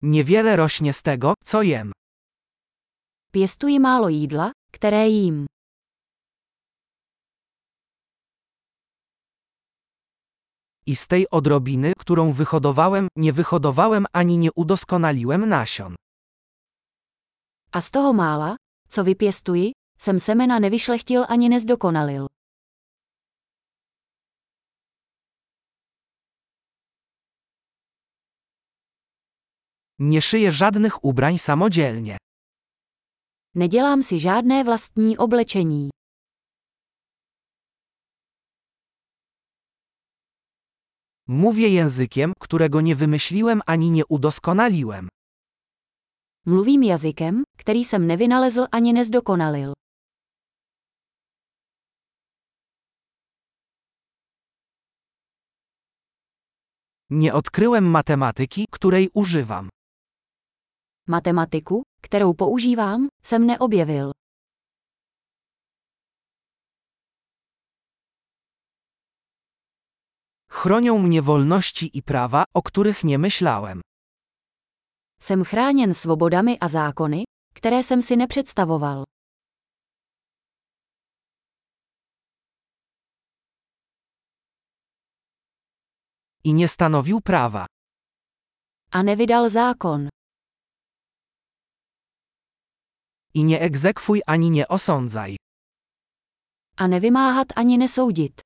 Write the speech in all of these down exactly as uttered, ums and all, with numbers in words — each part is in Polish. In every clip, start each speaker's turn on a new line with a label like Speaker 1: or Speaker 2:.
Speaker 1: Niewiele rośnie z tego, co jem.
Speaker 2: Pěstuji málo jídla, které jím.
Speaker 1: I z tej odrobiny, którą wyhodowałem, nie wyhodowałem ani nie udoskonaliłem nasion.
Speaker 2: A z toho mála, co vypěstuji, jsem semena nevyšlechtil ani nezdokonalil.
Speaker 1: Nie szyję żadnych ubrań samodzielnie.
Speaker 2: Nedělám si žádné vlastní oblečení.
Speaker 1: Mówię językiem, którego nie wymyśliłem ani nie udoskonaliłem.
Speaker 2: Mluvím jazykem, který jsem nevynalezl ani nezdokonalil.
Speaker 1: Nie odkryłem matematyki, której używam.
Speaker 2: Matematiku, kterou používám, jsem neobjevil.
Speaker 1: Chronią mnie wolności i prawa, o których nie myślałem.
Speaker 2: Jsem chráněn svobodami a zákony, které jsem si nepředstavoval.
Speaker 1: I nie stanowił prawa.
Speaker 2: A nevydal zákon.
Speaker 1: I nie egzekwuj ani nie osądzaj.
Speaker 2: A nevymáhat ani nesoudit.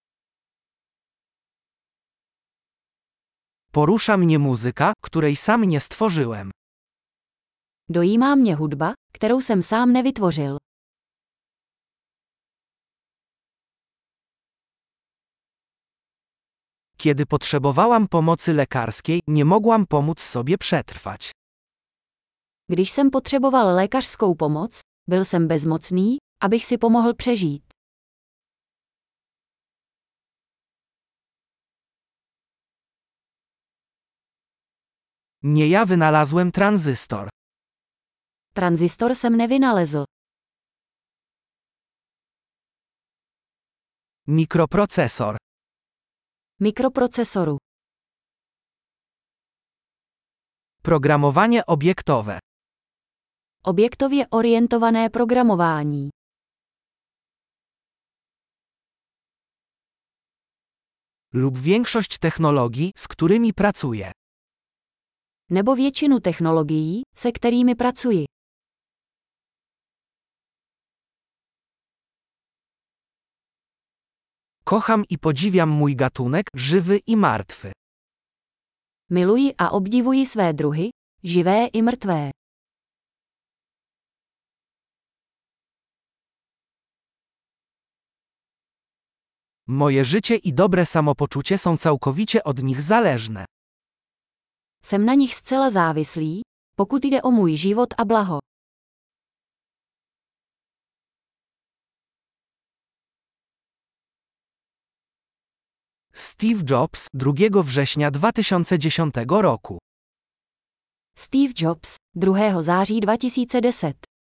Speaker 1: Porusza mnie muzyka, której sam nie stworzyłem.
Speaker 2: Dojímá mě hudba, kterou jsem sám nevytvořil.
Speaker 1: Kiedy potrzebowałam pomocy lekarskiej, nie mogłam pomóc sobie przetrwać.
Speaker 2: Když jsem potřeboval lékařskou pomoc, byl jsem bezmocný, abych si pomohl přežít.
Speaker 1: Nie ja wynalazłem tranzystor.
Speaker 2: Tranzistor jsem nevynalezl.
Speaker 1: Mikroprocesor.
Speaker 2: Mikroprocesoru.
Speaker 1: Programowanie obiektowe.
Speaker 2: Objektově orientované programování.
Speaker 1: Lub większość technologii, z którymi pracuję.
Speaker 2: Nebo většinu technologií, se kterými pracuji.
Speaker 1: Kocham i podziwiam mój gatunek, żywy i martwy.
Speaker 2: Miluji a obdivuji své druhy, živé i mrtvé.
Speaker 1: Moje życie i dobre samopoczucie są całkowicie od nich zależne.
Speaker 2: Jsem na nich zcela závislý, pokud jde o můj život a blaho.
Speaker 1: Steve Jobs, drugiego września dwa tysiące dziesiątego roku.
Speaker 2: Steve Jobs, druhého září dva tisíce deset.